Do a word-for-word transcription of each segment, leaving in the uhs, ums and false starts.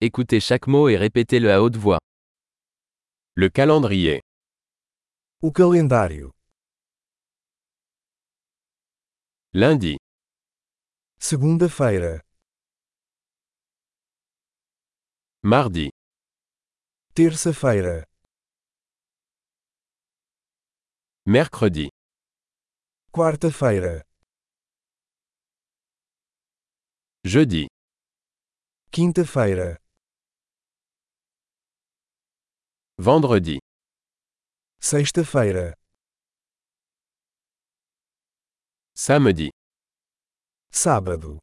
Écoutez chaque mot et répétez-le à haute voix. Le calendrier. O calendário. Lundi, Segunda-feira. mardi, Terça-feira. mercredi, Quarta-feira. jeudi, Quinta-feira. vendredi, Sexta-feira. samedi, Sábado.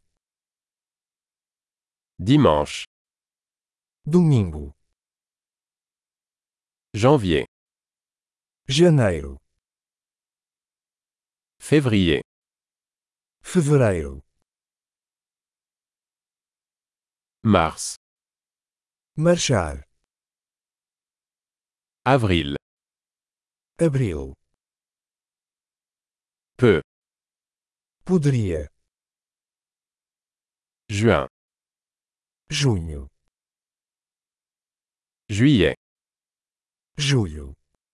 dimanche, Domingo. janvier, Janeiro. février, Fevereiro. mars, Marchar. avril, Abril. peu, Poderia. juin, Junho. juillet, Julho.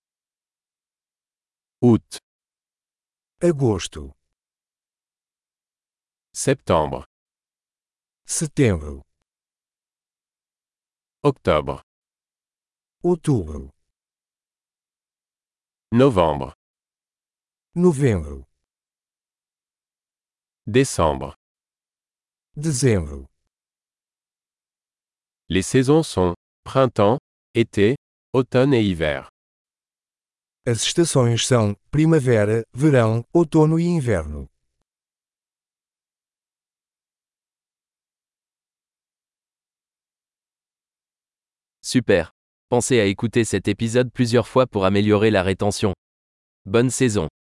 août, Agosto. septembre, Setembro. octobre, Outubro. novembre, Novembro. décembre. Dezembro. Les saisons sont printemps, été, automne et hiver. As estações são primavera, verão, outono e inverno. Super. Pensez à écouter cet épisode plusieurs fois pour améliorer la rétention. Bonne saison.